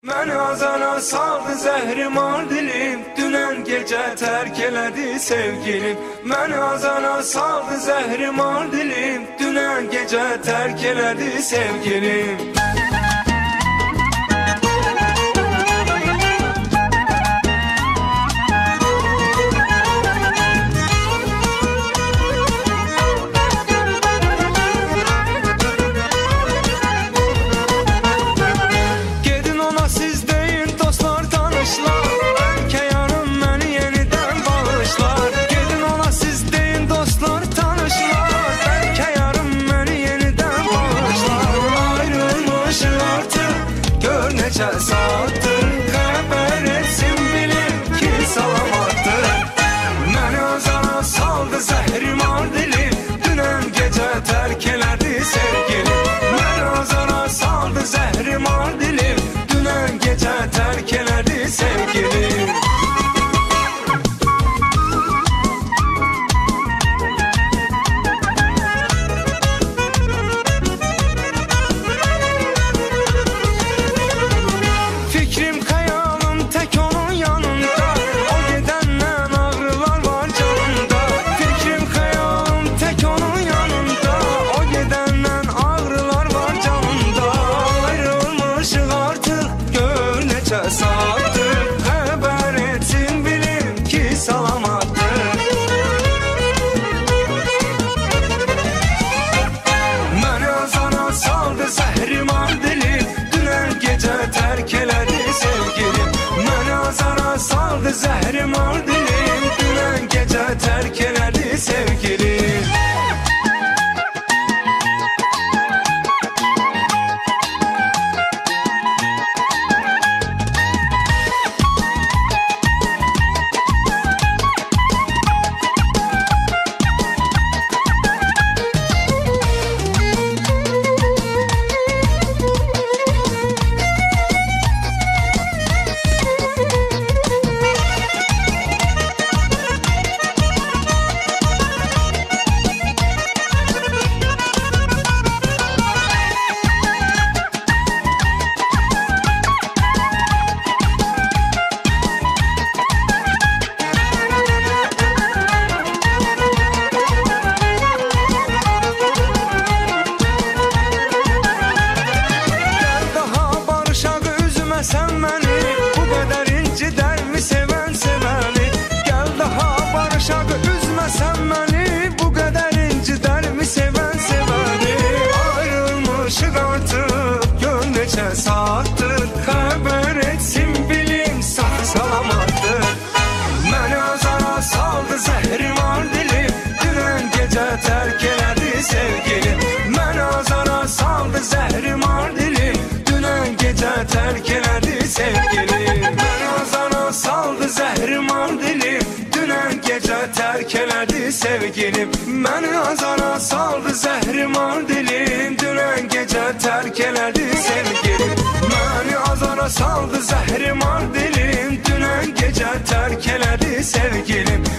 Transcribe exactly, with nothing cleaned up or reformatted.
Məni azana saldı zəhrim ar dilim, dünən gecə tərk elədi sevgilim. Məni azana saldı zəhrim ar dilim, dünən gecə tərk elədi sevgilim. Neçə saatdır xəbər etsin bilim ki salamatdır. Məni azana saldı zəhrim ar dilim, dünən gecə tərk elədi sevgilim. Məni azana saldı zəhrim ar dilim, dünən gecə tərk elədi sevgilim. Saatdir xəbər etsin bilim ki salamatdır. Məni azana saldı zəhrim ar dilim, dünən gecə tərk elədi sevgilim. Məni azana saldı zəhrim ar dilim, dünən gecə tərk elədi sevgilim. Sen beni bu kadar incidermi seven seveni? Gel daha barışak üzme sen beni, bu kadar incidermi seven seveni? Ayrılmışık artık gör neçə saattir, xəbər etsin bilim sağ salamattır. Məni azana saldı zəhrim ar dilim, dünən gecə tərk elədi sevgilim. Məni azana saldı zəhrim ar dilim, dünən gecə tərk elədi sevgilim. Məni azana saldı zəhrim ar dilim, dünən gecə tərk elədi sevgilim. Məni azana saldı zəhrim ar dilim, dünən gecə tərk elədi sevgilim. Məni azana saldı zəhrim ar dilim, dünən gecə tərk elədi sevgilim.